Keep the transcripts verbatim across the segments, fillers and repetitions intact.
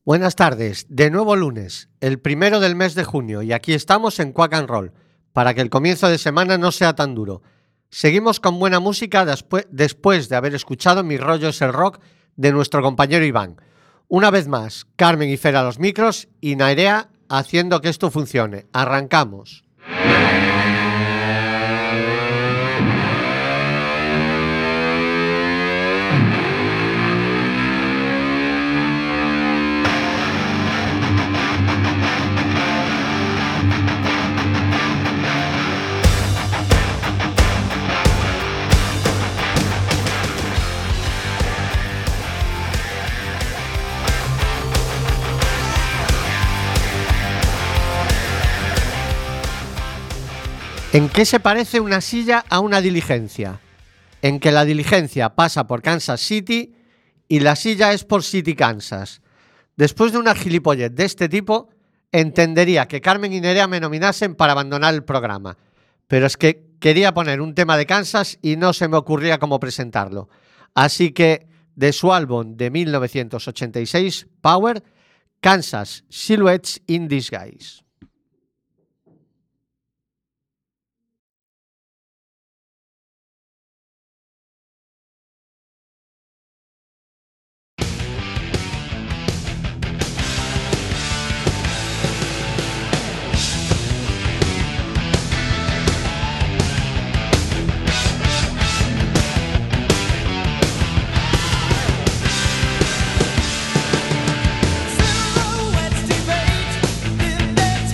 Buenas tardes, de nuevo lunes, el primero del mes de junio, y aquí estamos en Quack and Roll, para que el comienzo de semana no sea tan duro. Seguimos con buena música después, después de haber escuchado Mi rollo es el rock de nuestro compañero Iván. Una vez más, Carmen y Fer a los micros y Nairea haciendo que esto funcione. Arrancamos. ¿En qué se parece una silla a una diligencia? En que la diligencia pasa por Kansas City y la silla es por City, Kansas. Después de una gilipollez de este tipo, entendería que Carmen y Nerea me nominasen para abandonar el programa. Pero es que quería poner un tema de Kansas y no se me ocurría cómo presentarlo. Así que, de su álbum de mil novecientos ochenta y seis, Power, Kansas Silhouettes in Disguise. Silhouettes debate in their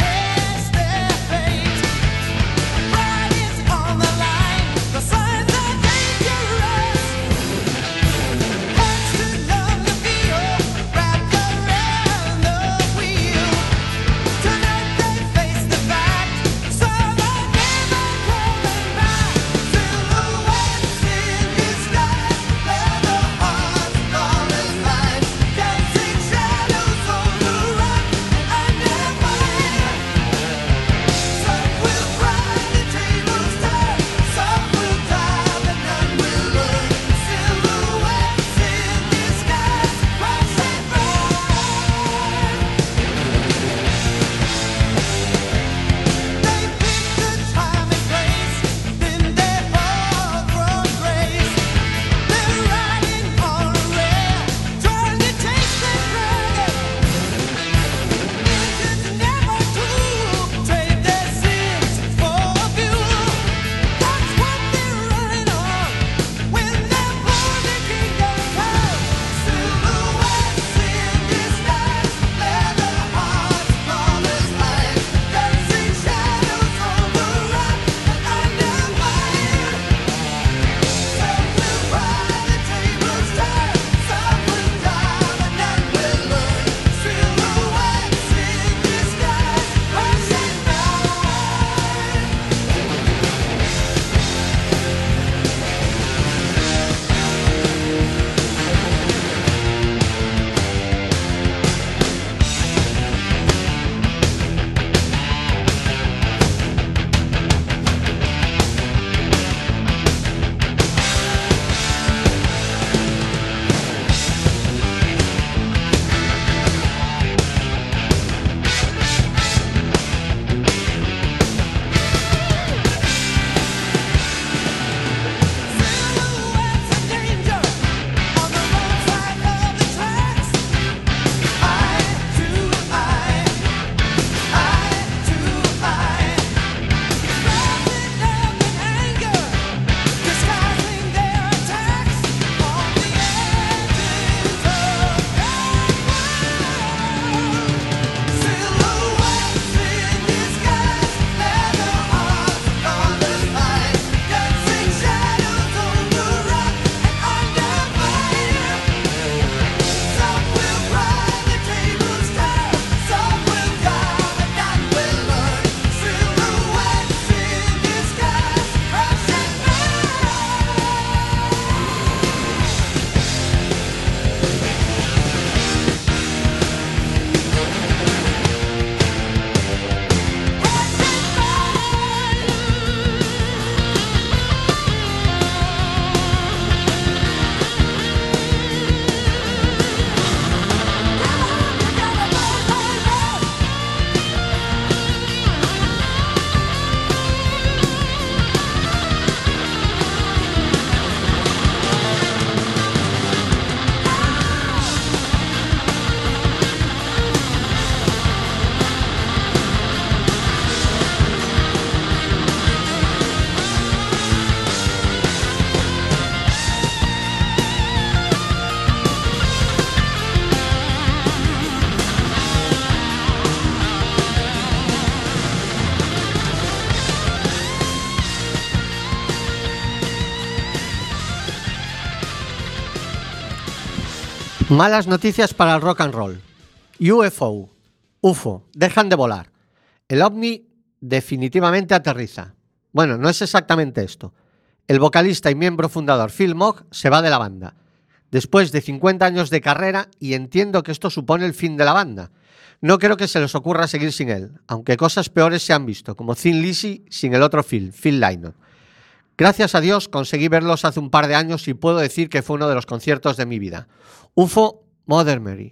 Malas noticias para el rock and roll. U F O, U F O, dejan de volar. El ovni definitivamente aterriza. Bueno, no es exactamente esto. El vocalista y miembro fundador Phil Mogg se va de la banda, después de cincuenta años de carrera, y entiendo que esto supone el fin de la banda. No creo que se les ocurra seguir sin él, aunque cosas peores se han visto, como Thin Lizzy sin el otro Phil, Phil Lynott. Gracias a Dios conseguí verlos hace un par de años y puedo decir que fue uno de los conciertos de mi vida. U F O, Mother Mary.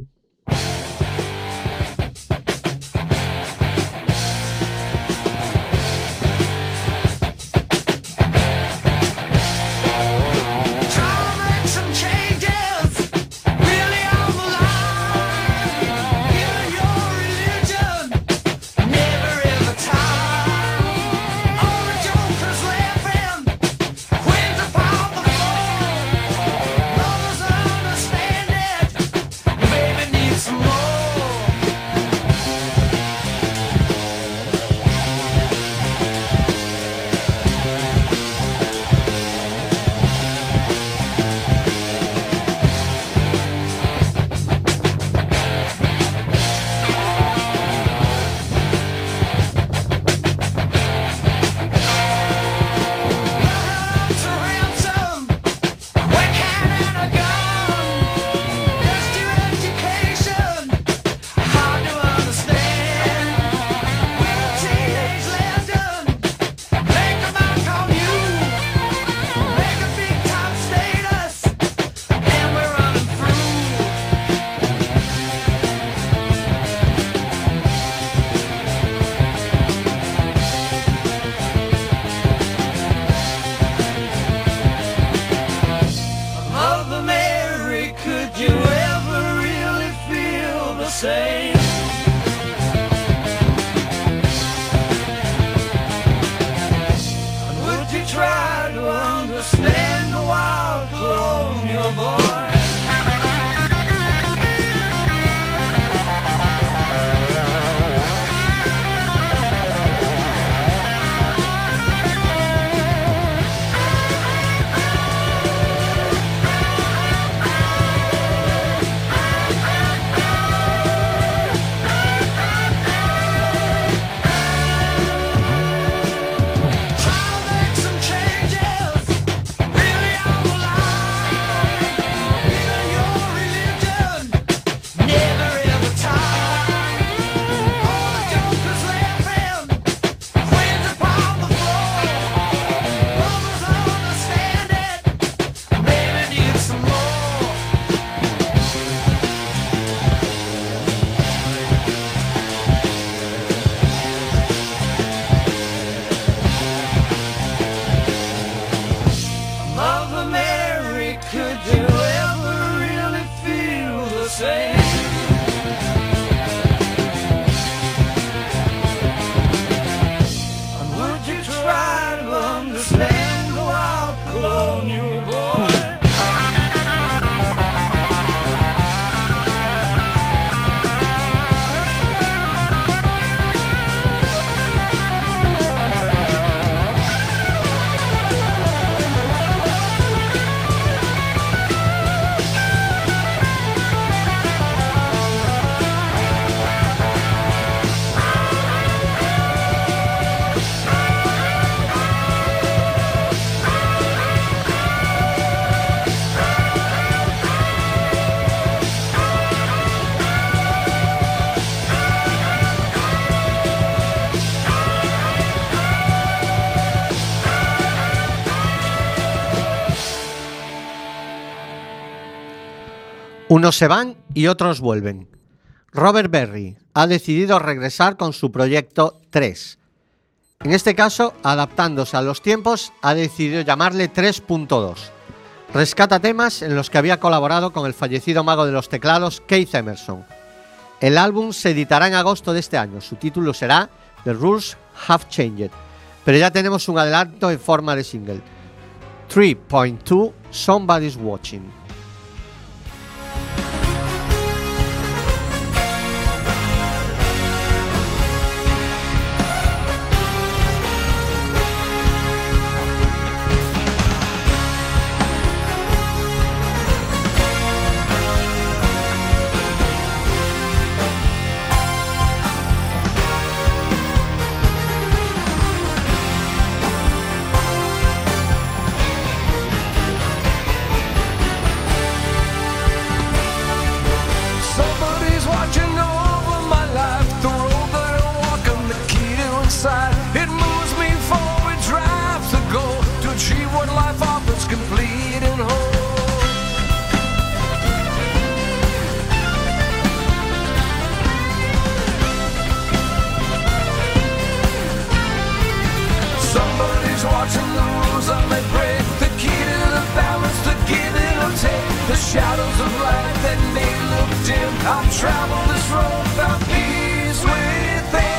Unos se van y otros vuelven. Robert Berry ha decidido regresar con su proyecto tres. En este caso, adaptándose a los tiempos, ha decidido llamarle tres punto dos. Rescata temas en los que había colaborado con el fallecido mago de los teclados Keith Emerson. El álbum se editará en agosto de este año. Su título será The Rules Have Changed, pero ya tenemos un adelanto en forma de single. tres punto dos Somebody's Watching. the shadows of light that may look dim. I've traveled this road, found peace within.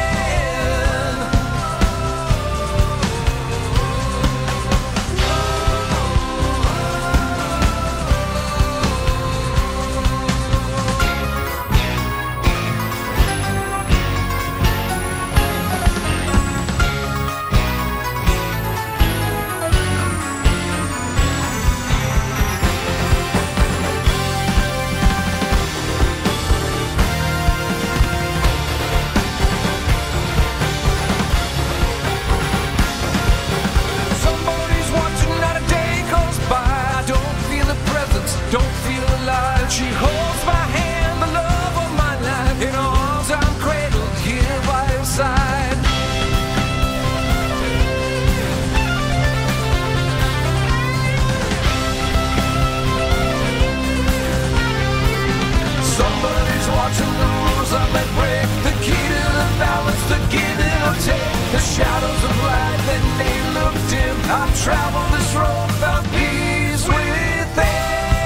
Don't feel alive. She holds my hand, the love of my life. In her arms I'm cradled here by her side. Somebody's watching the rules I may break. The key to the balance, the give and or take. The shadows of light that may look dim. I've traveled this road, found peace within.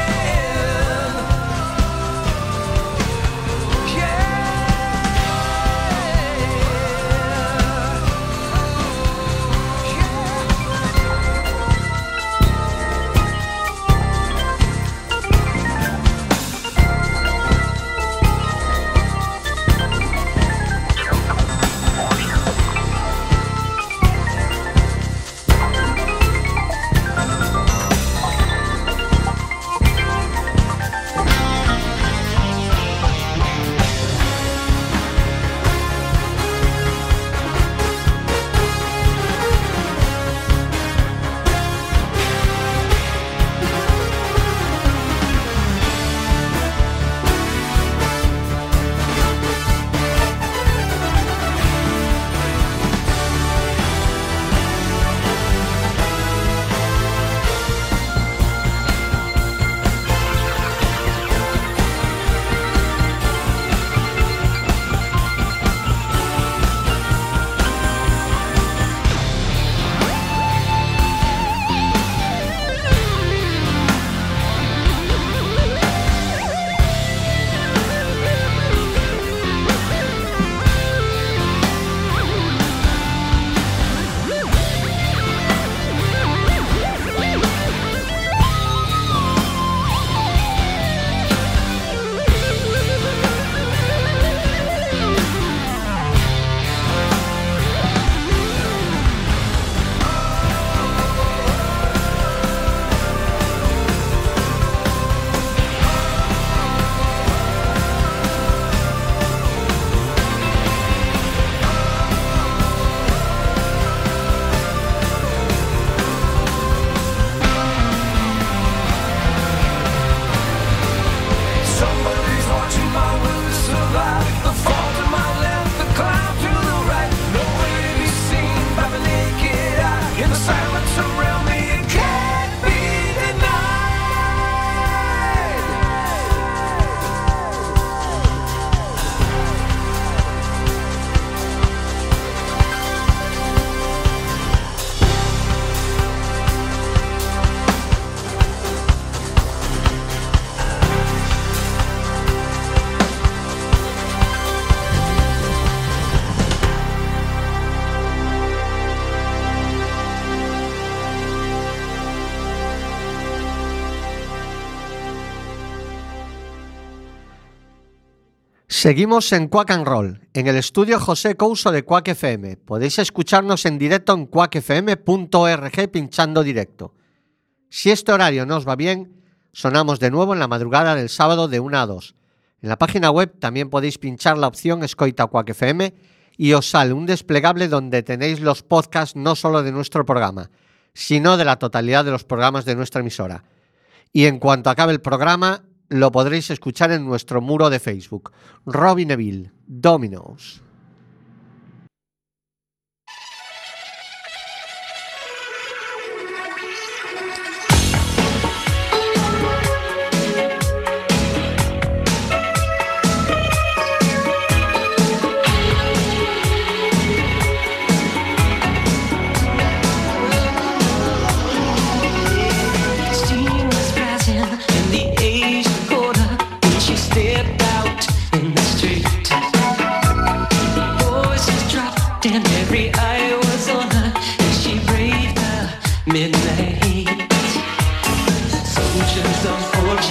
Seguimos en Quack and Roll, en el estudio José Couso de Quack F M. Podéis escucharnos en directo en quack f m punto org pinchando directo. Si este horario no os va bien, sonamos de nuevo en la madrugada del sábado de una a dos. En la página web también podéis pinchar la opción Escoita Quack F M y os sale un desplegable donde tenéis los podcasts no solo de nuestro programa, sino de la totalidad de los programas de nuestra emisora. Y en cuanto acabe el programa, lo podréis escuchar en nuestro muro de Facebook. Robbie Neville, Dominos. In the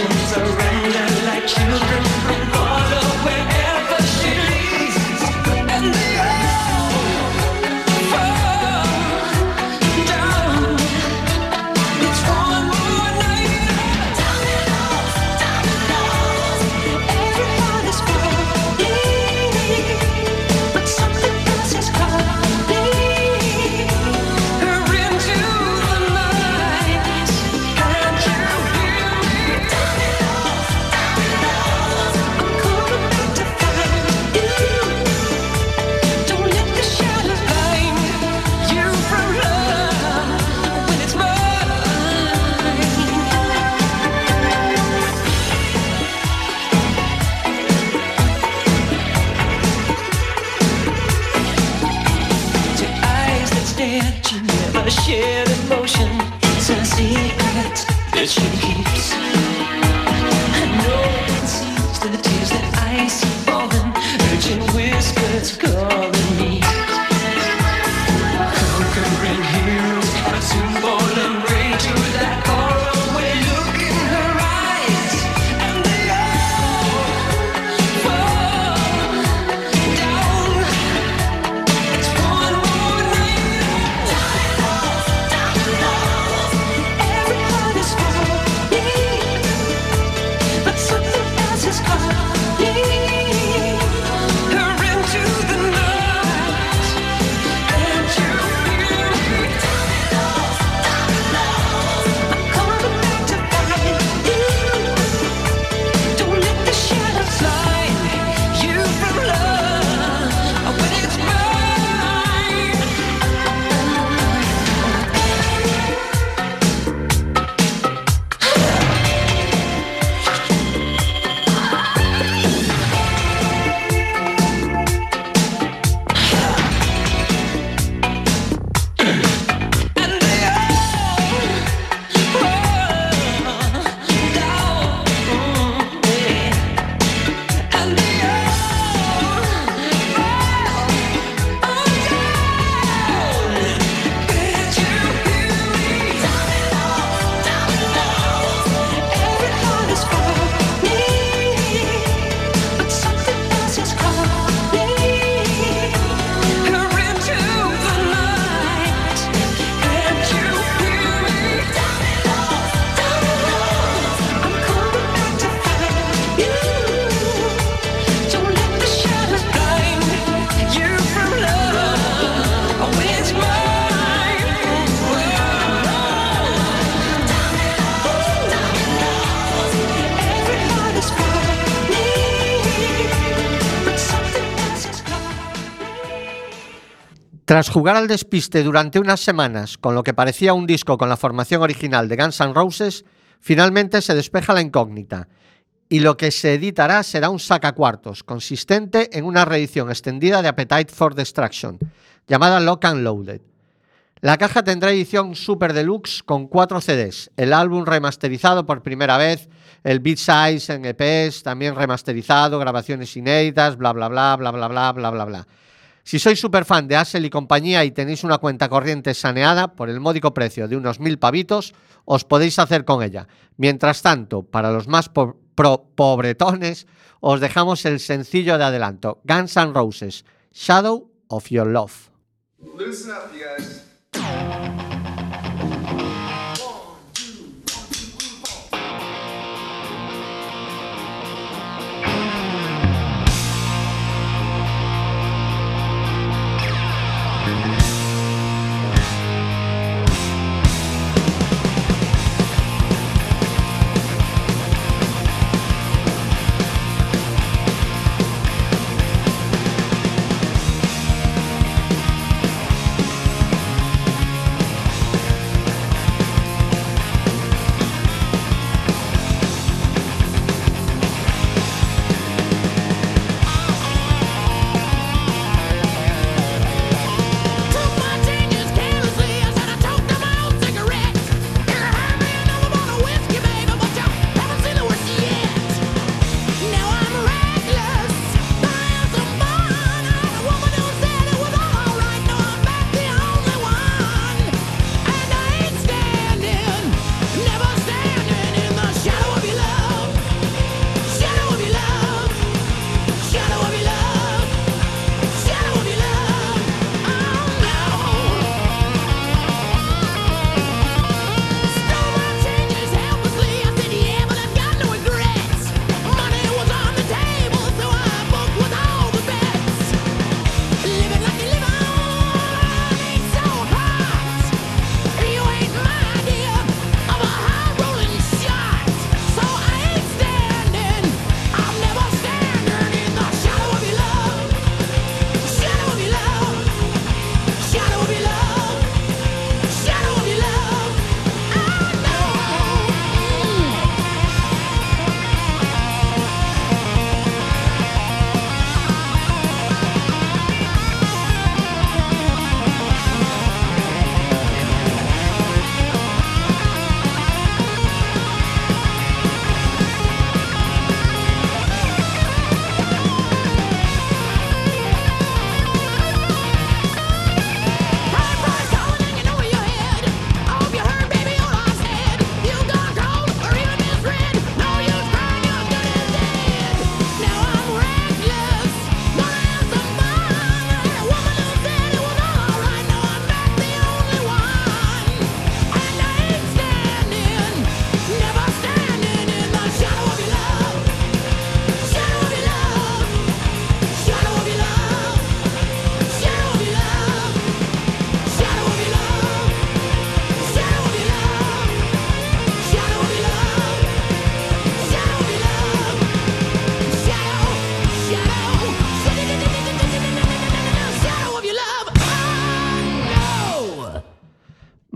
Tras jugar al despiste durante unas semanas con lo que parecía un disco con la formación original de Guns N' Roses, finalmente se despeja la incógnita y lo que se editará será un sacacuartos consistente en una reedición extendida de Appetite for Destruction, llamada Lock and Loaded. La caja tendrá edición Super Deluxe con cuatro C Ds, el álbum remasterizado por primera vez, el B-Sides en E Ps, también remasterizado, grabaciones inéditas, bla bla bla bla bla bla bla bla bla. Si sois super fan de Axl y compañía y tenéis una cuenta corriente saneada por el módico precio de unos mil pavitos, os podéis hacer con ella. Mientras tanto, para los más po- pro- pobretones, os dejamos el sencillo de adelanto, Guns N' Roses, Shadow of Your Love. Listen up, you guys.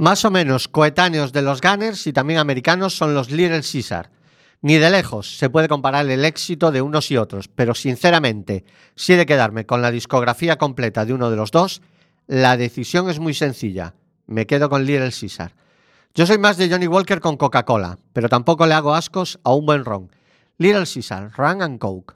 Más o menos coetáneos de los Gunners y también americanos son los Little Caesar. Ni de lejos se puede comparar el éxito de unos y otros, pero sinceramente, si he de quedarme con la discografía completa de uno de los dos, la decisión es muy sencilla. Me quedo con Little Caesar. Yo soy más de Johnny Walker con Coca-Cola, pero tampoco le hago ascos a un buen ron. Little Caesar, Rum and Coke.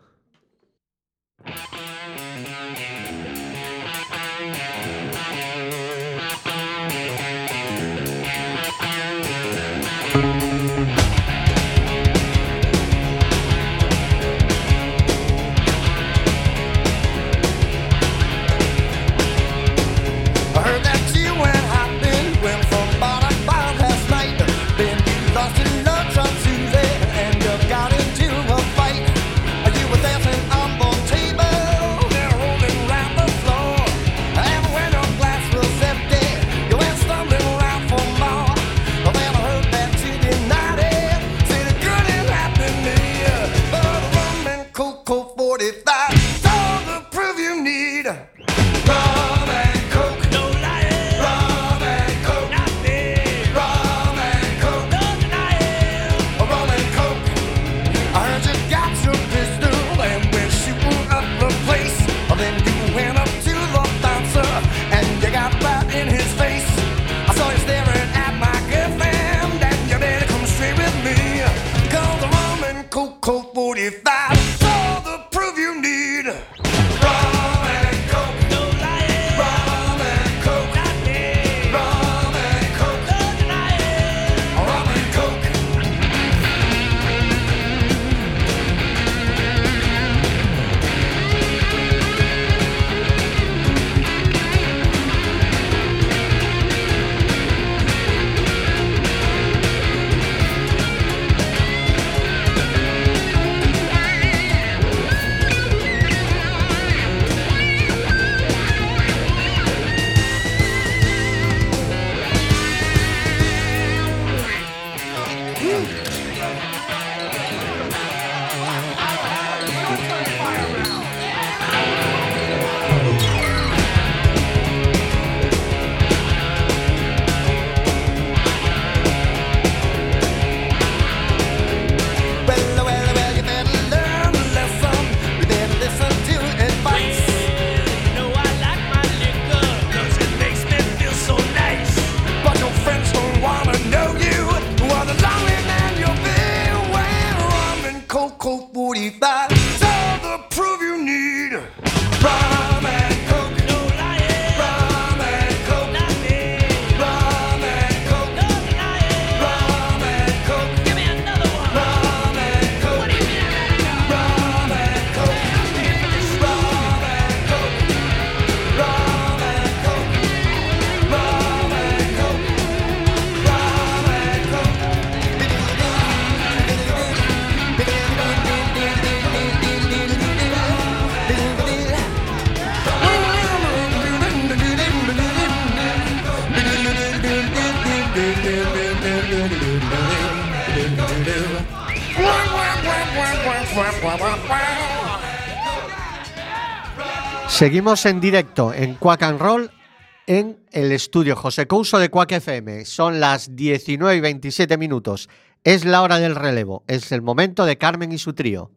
Seguimos en directo en Quack and Roll en el estudio José Couso de Quack F M. Son las diecinueve y veintisiete minutos. Es la hora del relevo. Es el momento de Carmen y su trío.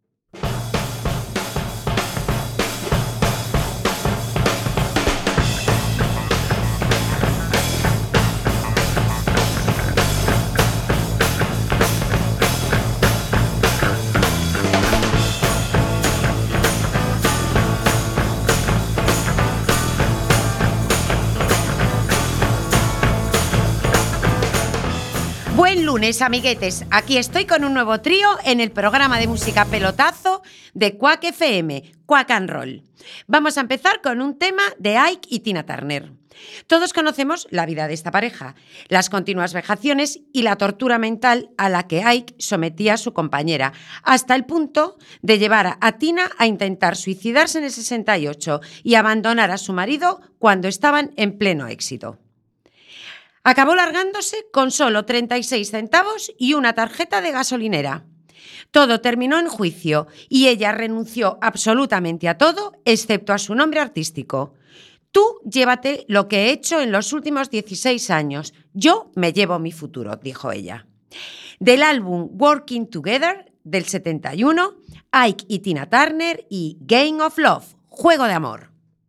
Buen lunes, amiguetes. Aquí estoy con un nuevo trío en el programa de música pelotazo de Quack F M, Quack and Roll. Vamos a empezar con un tema de Ike y Tina Turner. Todos conocemos la vida de esta pareja, las continuas vejaciones y la tortura mental a la que Ike sometía a su compañera, hasta el punto de llevar a Tina a intentar suicidarse en el sesenta y ocho y abandonar a su marido cuando estaban en pleno éxito. Acabó largándose con solo treinta y seis centavos y una tarjeta de gasolinera. Todo terminó en juicio y ella renunció absolutamente a todo, excepto a su nombre artístico. Tú llévate lo que he hecho en los últimos dieciséis años. Yo me llevo mi futuro, dijo ella. Del álbum Working Together del setenta y uno, Ike y Tina Turner y Game of Love, Juego de Amor.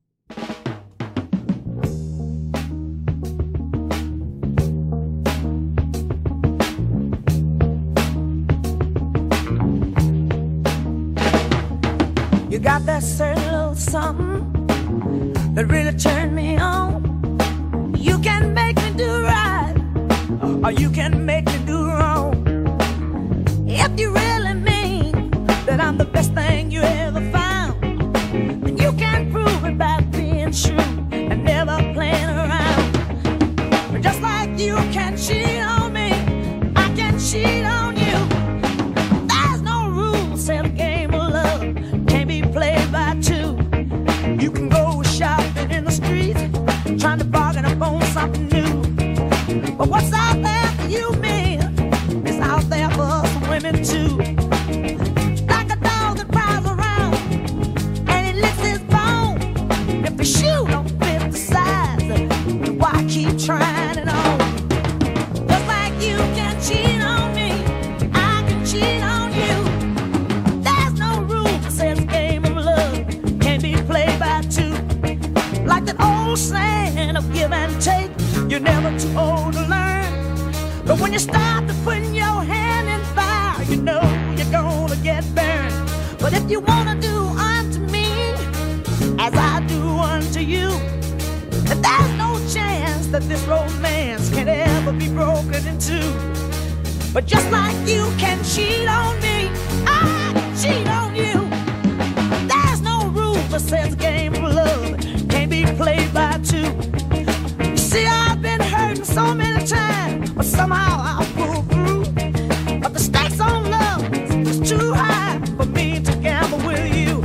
You got that certain little something that really turned me on. You can make me do right, or you can make me do wrong. If you really mean that I'm the best thing you ever found, then you can prove it by being true and never playing around. Just like you can cheat on me, I can cheat on you. There's no rules in a game of love, can't be played by two. You can go shopping in the streets, trying to bargain up on something new. But what's out there for you men is out there for some women too. Like a dog that prowls around and he licks his bone. If the shoe don't fit the size, why keep trying it on? Just like you can cheat on me, I can cheat on you. There's no rule that says a game of love can't be played by two. Like that old saying of give and take, you're never too old to learn. But when you start to put your hand in fire, you know you're gonna get burned. But if you wanna do unto me as I do unto you, then there's no chance that this romance can ever be broken in two. But just like you can cheat on me, I can cheat on you. There's no rule that says a game of love can't be played by two. You see, I've been hurting so many times, but somehow I'll pull through. But the stakes on love is too high for me to gamble with you.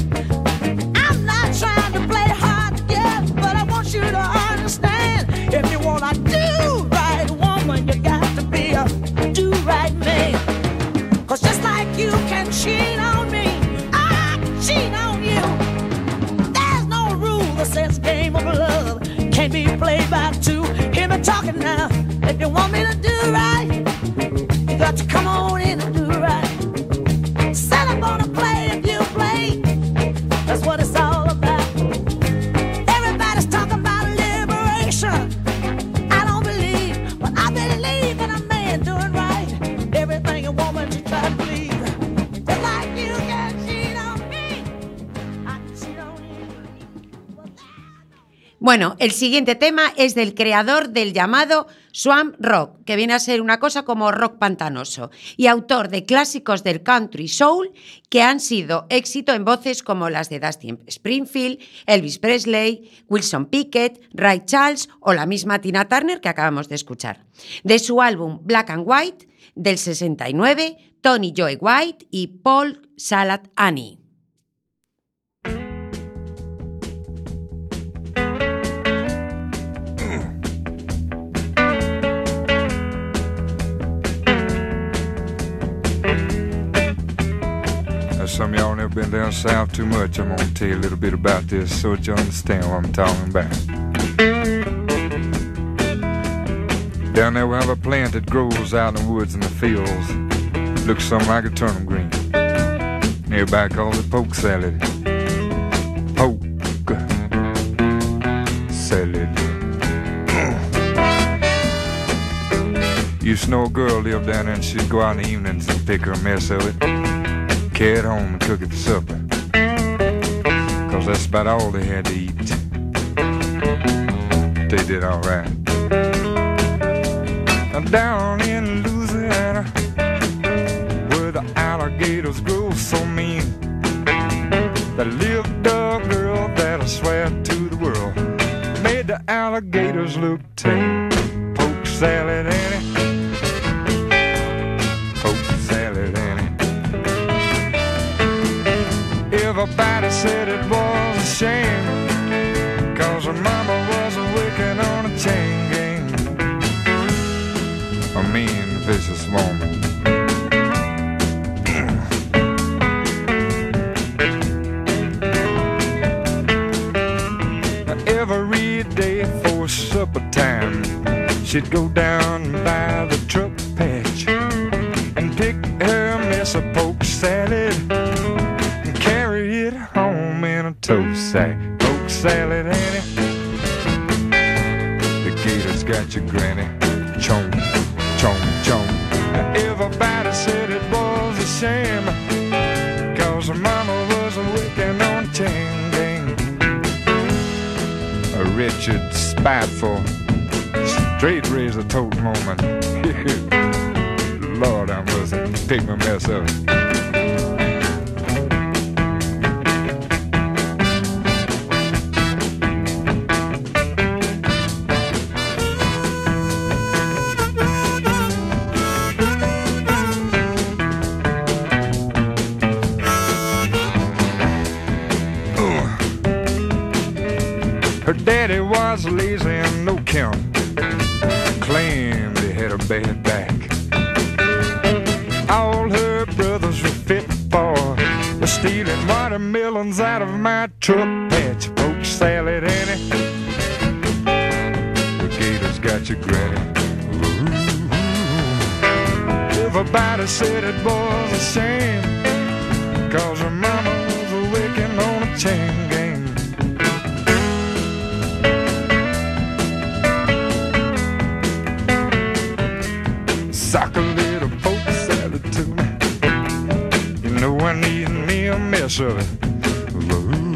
I'm not trying to play hard to get, but I want you to understand. If you wanna do right, woman, you got to be a do right man. Cause just like you can cheat on me, I can cheat on you. There's no rule that says game of love can't be played by two. Hear me talking now. If you want me to do right, you got to come on in and do right. Said I'm gonna play if you play. That's what it's all about. Everybody's talking about liberation. I don't believe, but I believe in a man doing right. Everything a woman should try to believe. Just like you can cheat on me, I can cheat on you. Bueno, el siguiente tema es del creador del llamado swamp rock, que viene a ser una cosa como rock pantanoso, y autor de clásicos del country soul que han sido éxito en voces como las de Dusty Springfield, Elvis Presley, Wilson Pickett, Ray Charles o la misma Tina Turner que acabamos de escuchar. De su álbum Black and White del sesenta y nueve, Tony Joe White y Paul Salad Annie. Some of y'all never been down south too much. I'm gonna tell you a little bit about this so that you understand what I'm talking about. Down there we have a plant that grows out in the woods and the fields. Looks something like a turnip green. Everybody calls it poke salad. Poke salad. Used to know a girl lived down there and she'd go out in the evenings and pick her a mess of it, carry it home and cook it for supper, cause that's about all they had to eat. They did alright. Down in Louisiana, where the alligators grow so mean, there lived a girl that I swear to the world made the alligators look tame. Poke salad Annie, poke salad Annie. Everybody said it was a shame, cause her mama was a wicked on a chain gang. A mean, vicious woman. Every day for supper time, she'd go down salad and carry it home in a toast sack. Poke salad, Annie. The gator's got your granny. Chomp, chomp, chomp. Everybody said it was a shame, cause her mama was working on chain gang. A wretched, spiteful, straight razor toting woman. Lord, I must take my mess up. Her daddy was lazy and no count, claimed he had a bad back. All her brothers were fit for was stealing watermelons out of my truck patch. Poke salad, Annie. The gator's got your granny. Ooh. Everybody said it was a shame, cause her mama was working on a chain gang. Sock a little poke salad to me. You know I need me a mess of it. Ooh,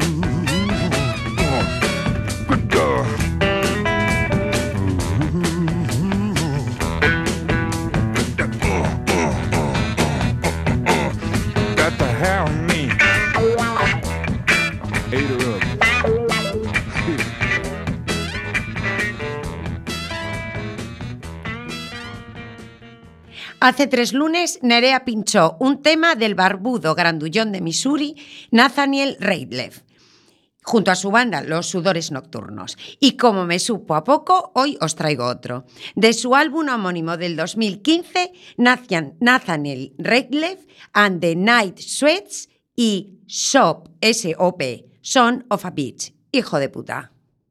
good God. Got to have me. Ate her up. Hace tres lunes, Nerea pinchó un tema del barbudo grandullón de Missouri, Nathaniel Rateliff, junto a su banda Los Sudores Nocturnos. Y como me supo a poco, hoy os traigo otro. De su álbum homónimo del dos mil quince, Nathaniel Rateliff and the Night Sweats y Shop, S O P, Son of a Bitch. Hijo de puta.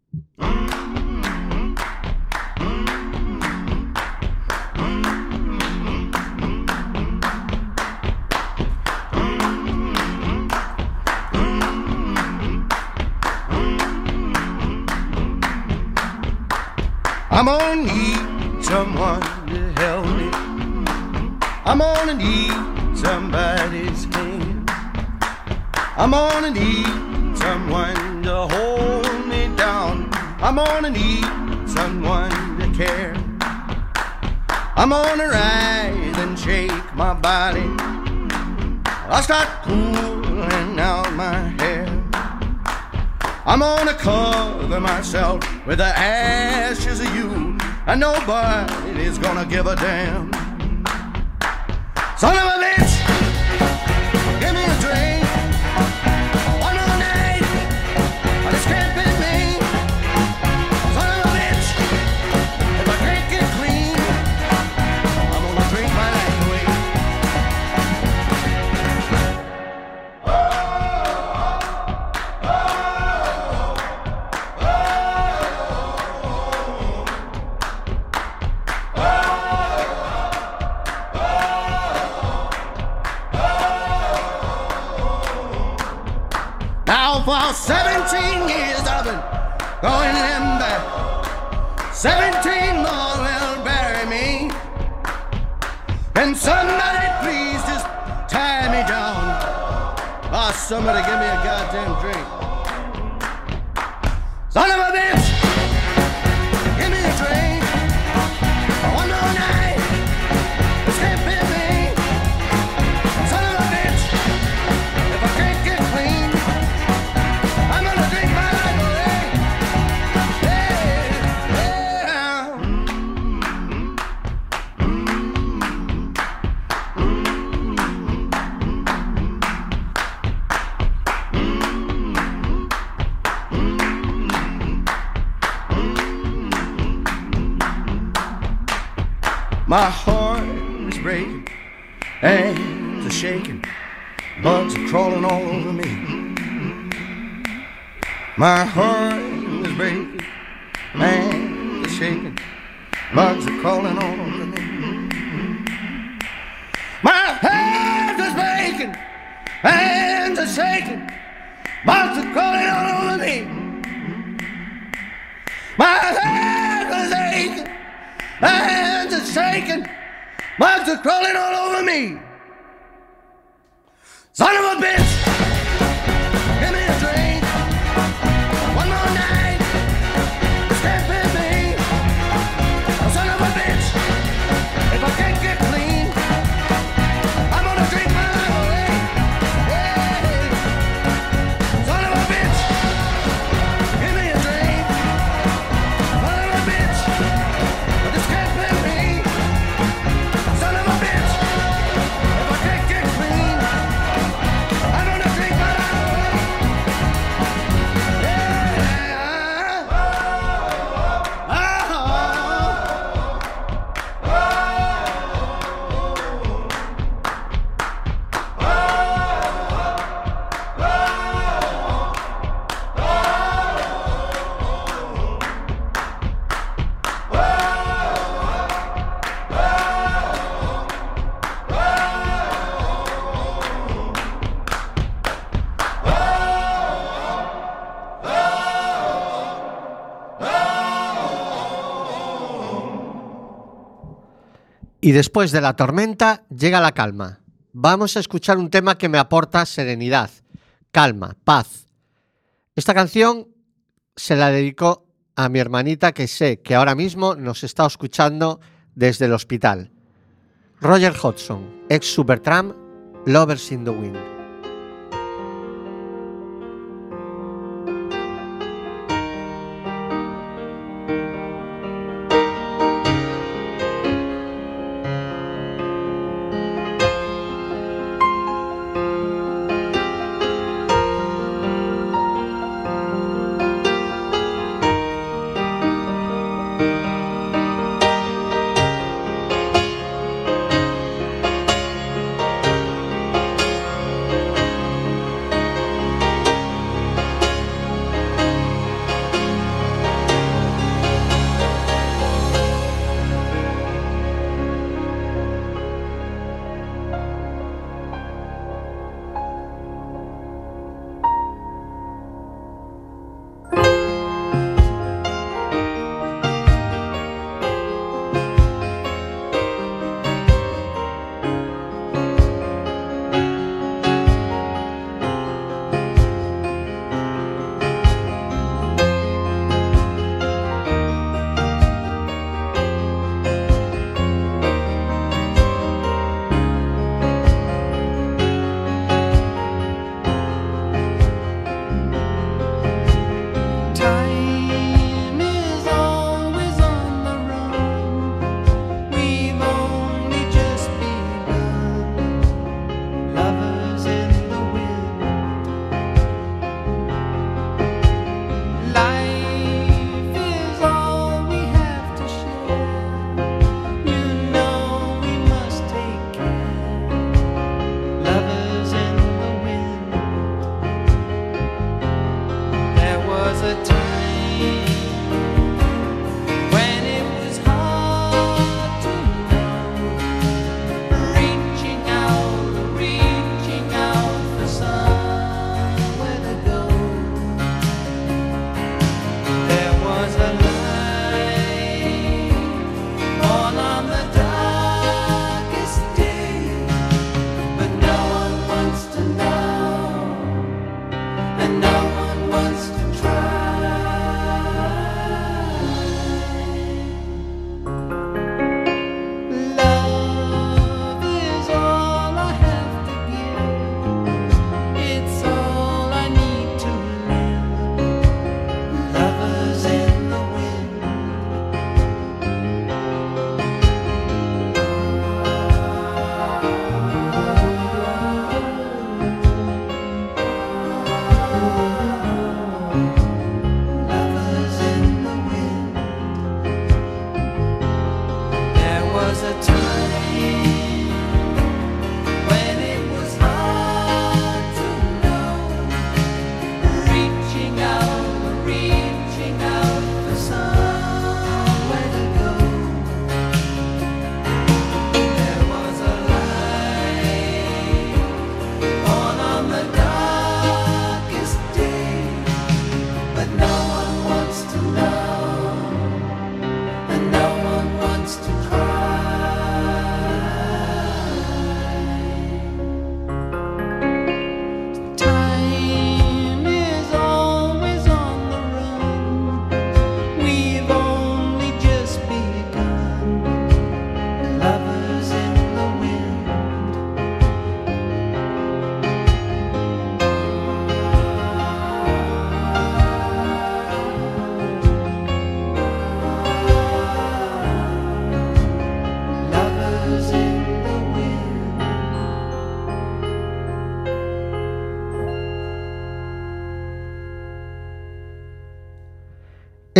I'm gonna need someone to help me. I'm gonna need somebody's hand. I'm gonna need someone to hold me down. I'm gonna need someone to care. I'm gonna rise and shake my body. I'll start pulling out my hair. I'm gonna cover myself with the ashes of you, and nobody's gonna give a damn. Son of a bitch, give me a drink. One more night, but it's can't be me. Son of a bitch, if I can't get clean, I'm gonna drink my life away. For seventeen years I've been going them back. Seventeen more will bury me. Can somebody please just tie me down? Oh, somebody give me a goddamn drink. Son of a bitch, give me a drink. One more night, this can't be me. Son of a bitch, if I can't get clean, I'm gonna drink my life away. Yeah, yeah. My heart is breaking, hands are shaking, bugs are crawling all over me. My heart is breaking, hands are shaking, bugs are crawling all over me. My heart is breaking, hands are shaking, bugs are crawling all over me. My hands are aching, my hands are shaking, bugs are crawling all over me. Son of a bitch, give me a drink, one more night, stand with me. Son of a bitch, if I can't get clean, I'm gonna drink my life away. Hey, son of a bitch, give me a drink, son of a bitch, just can't pay me. Son of a bitch, if I can't get clean, I'm gonna drink my life away. Yeah. Y después de la tormenta llega la calma. Vamos a escuchar un tema que me aporta serenidad, calma, paz. Esta canción se la dedico a mi hermanita que sé que ahora mismo nos está escuchando desde el hospital. Roger Hodgson, ex Supertramp, Lovers in the Wind. Hey,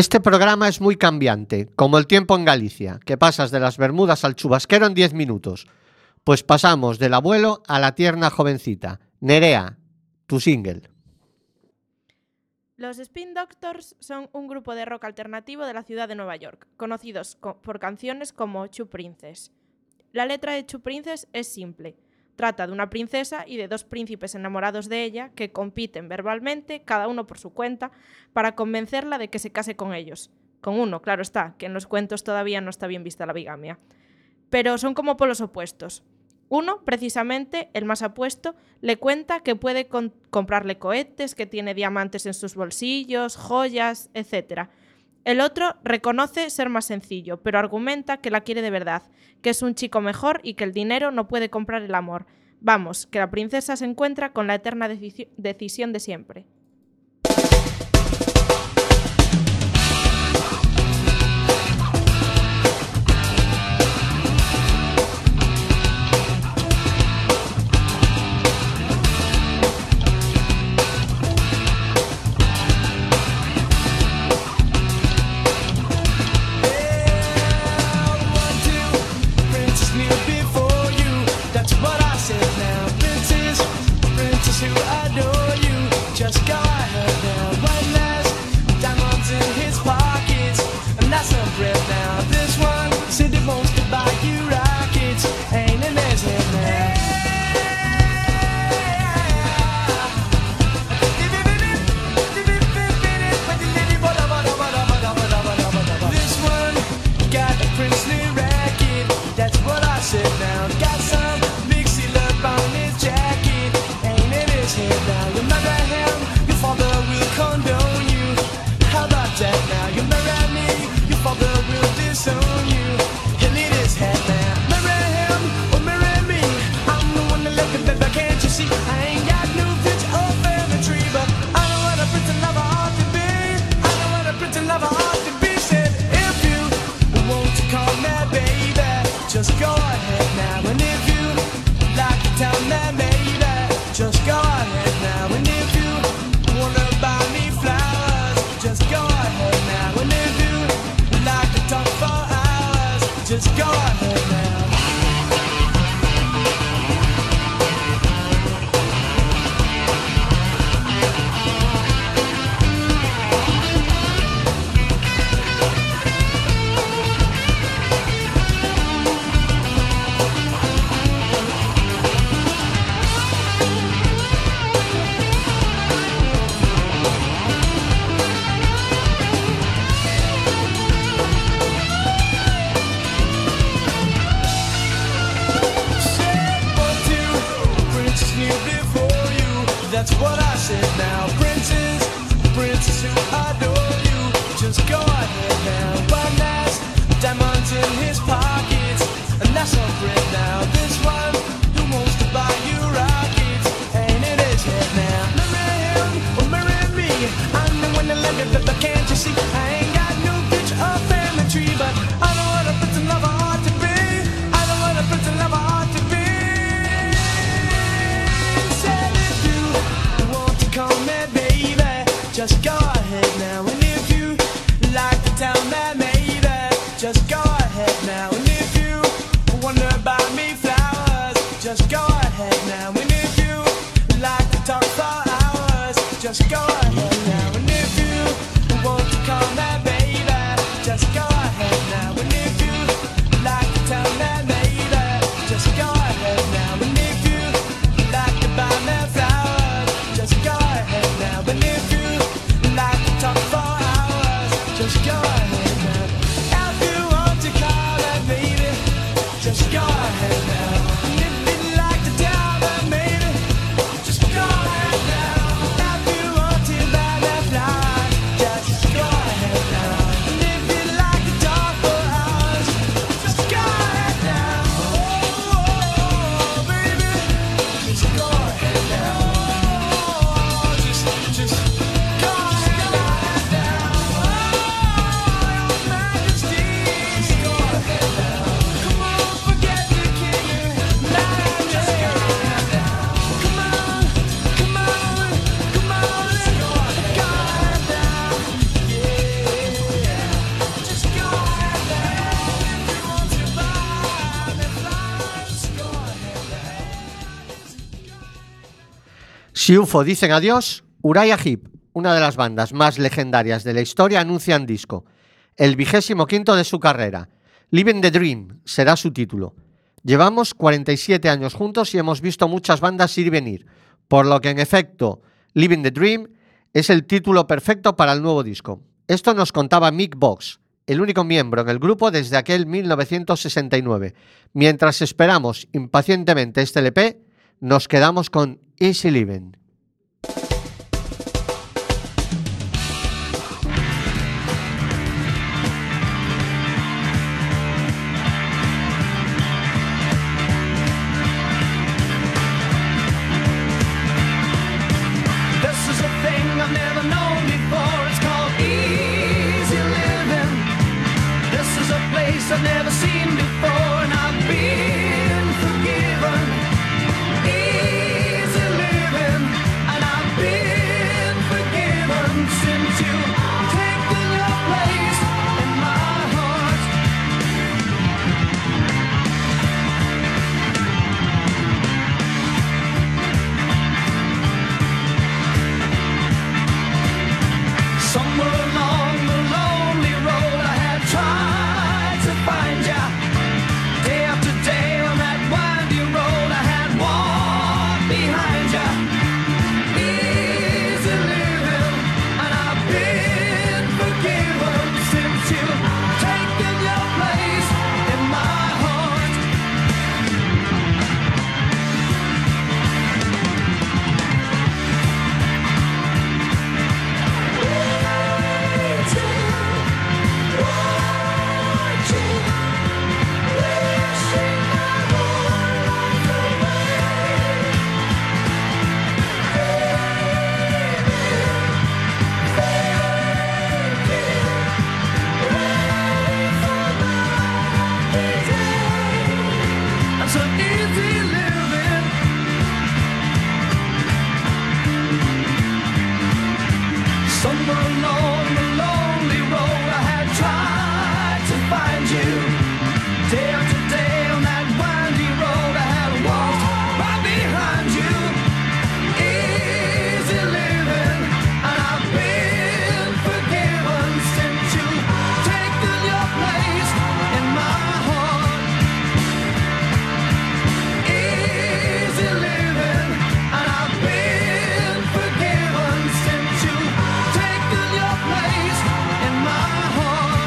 Este programa es muy cambiante, como el tiempo en Galicia, que pasas de las Bermudas al chubasquero en diez minutos. Pues pasamos del abuelo a la tierna jovencita. Nerea, tu single. Los Spin Doctors son un grupo de rock alternativo de la ciudad de Nueva York, conocidos co- por canciones como Two Princess. La letra de Two Princess es simple. Trata de una princesa y de dos príncipes enamorados de ella que compiten verbalmente, cada uno por su cuenta, para convencerla de que se case con ellos. Con uno, claro está, que en los cuentos todavía no está bien vista la bigamia. Pero son como polos opuestos. Uno, precisamente, el más apuesto, le cuenta que puede con- comprarle cohetes, que tiene diamantes en sus bolsillos, joyas, etcétera. El otro reconoce ser más sencillo, pero argumenta que la quiere de verdad, que es un chico mejor y que el dinero no puede comprar el amor. Vamos, que la princesa se encuentra con la eterna deci- decisión de siempre. Princess kneel before you. That's what I said now. Princess, princess who adore you. Just go ahead now. One last diamonds in his pockets, and that's a breath now. This one said he wants to buy you rockets. Ain't in his head now. This one got a princely racket. That's what I said now. Got some mixy love on his jacket. Ain't in his head now. You marry him, your father will condone you. How about that now? You marry me, your father will disown you. He'll eat his head now. Marry him or marry me. I'm the one that left him, baby, can't you see? I ain't got no bitch or family tree, but I know what a pretty lover ought to be. I know what a pretty lover ought to be. Said if you want to call me baby, just go ahead now. And if you like to tell me baby, just go ahead now. And if you wanna buy me flowers, just go ahead now. And if you like to talk for hours, just go ahead now. That's what I said now. Princess, princess who adore you. Just go ahead now. One last diamonds in his pockets, and that's all great now. This one who wants to buy you rockets, ain't in his head now. Marry him or marry me. I'm the one that left it, but can't you see? I ain't got no bitch or family tree, but I know what a pretty lover ought to be. I know what a pretty lover ought to be. Said if you want to call me baby, just go ahead now. And if you like to tell me maybe, just go ahead now. And if you wanna buy me flowers, just go ahead now. And if you like to talk for hours, just go ahead now. And if you want to call me baby, just go ahead now. And if you like to tell me maybe, just go ahead now. And if you like to buy me flowers, just go ahead now. And if you Si U F O dicen adiós, Uriah Heep, una de las bandas más legendarias de la historia, anuncian disco, el vigésimo quinto de su carrera. Living the Dream será su título. Llevamos cuarenta y siete años juntos y hemos visto muchas bandas ir y venir, por lo que en efecto, Living the Dream es el título perfecto para el nuevo disco. Esto nos contaba Mick Box, el único miembro en el grupo desde aquel mil novecientos sesenta y nueve. Mientras esperamos impacientemente este L P, nos quedamos con Easy Living. I've never seen before, and I've been forgiven. Easy living, and I've been forgiven since you've taken your place in my heart. Somewhere along the lonely road I had tried to find ya. Day after day on that winding road I had walked behind ya. Easy living, and I've been forgiven since you've taken your place in my heart. I'm so easy living. Somewhere along the lonely road I had tried to find you. Day after day on that winding road I had walked right behind you. Easy living, and I've been forgiven since you've taken your place in my heart. Easy living, and I've been forgiven since you've taken your place in my heart.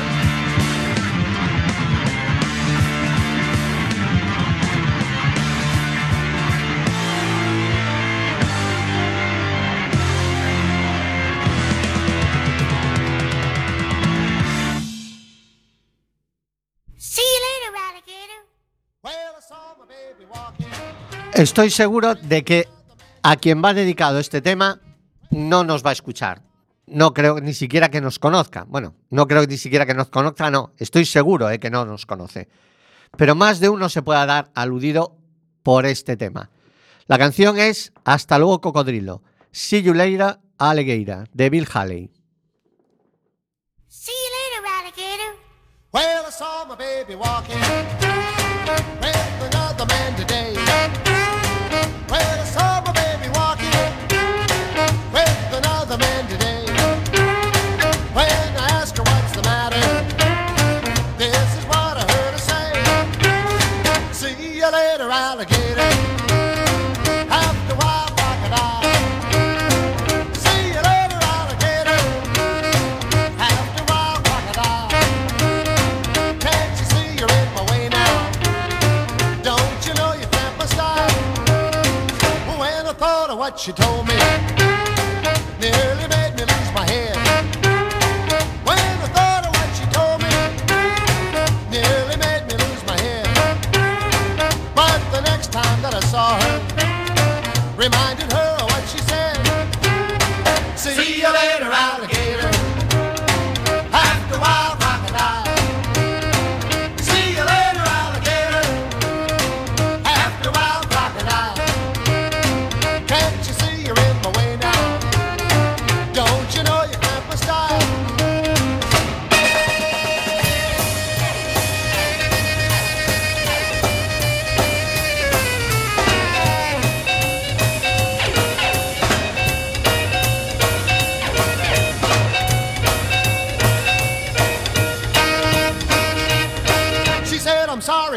See you later, alligator. Well, I saw my baby walking. Estoy seguro de que a quien va dedicado este tema no nos va a escuchar. No creo ni siquiera que nos conozca. Bueno, no creo ni siquiera que nos conozca, no. Estoy seguro de que no nos conoce. Pero más de uno se pueda dar aludido por este tema. La canción es Hasta luego, cocodrilo. See you later, alligator, de Bill Haley. See you later, alligator. Well, I saw my baby walking with another man today. Well, I saw my baby walking with another man today. When I asked her what's the matter, this is what I heard her say. See you later, alligator. After a while, crocodile. See you later, alligator. After a while, crocodile. Can't you see you're in my way now? Don't you know you can't my style? When I thought of what she told me, nearly made me lose my head. When I thought of what she told me, nearly made me lose my head. But the next time that I saw her, reminded her of what she said. See you later, alligator. After a while, crocodile. See you later, alligator. After a while, crocodile. Can't you see you're in my way now? Don't you know you can't my style?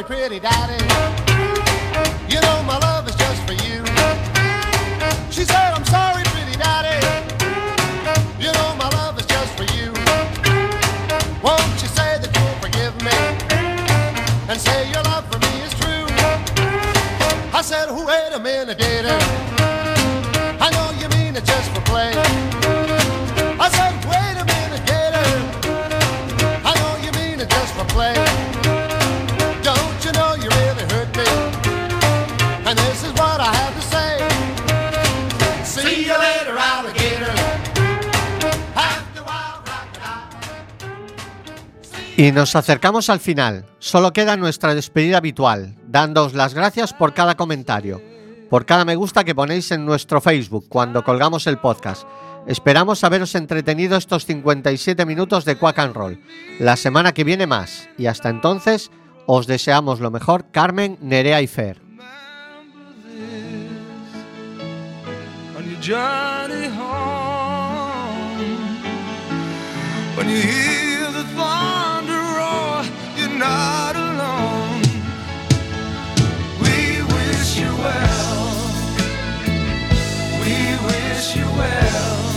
pretty daddy. You know my love is just for you. She said, I'm sorry, pretty daddy. You know my love is just for you. Won't you say that you'll forgive me and say your love for me is true? I said, wait a minute, gator. I know you mean it just for play. I said, wait a minute, gator. I know you mean it just for play. Don't you know you really hurt me? And this is what I have to say. See you later, alligator. After a while, crocodile. Y nos acercamos al final. Solo queda nuestra despedida habitual, dándoos las gracias por cada comentario, por cada me gusta que ponéis en nuestro Facebook cuando colgamos el podcast. Esperamos haberos entretenido estos cincuenta y siete minutos de Quack and Roll. La semana que viene más. Y hasta entonces, os deseamos lo mejor, Carmen, Nerea y Fer. On your journey home, when you hear the thunder roar, you're not alone. We wish you well. We wish you well.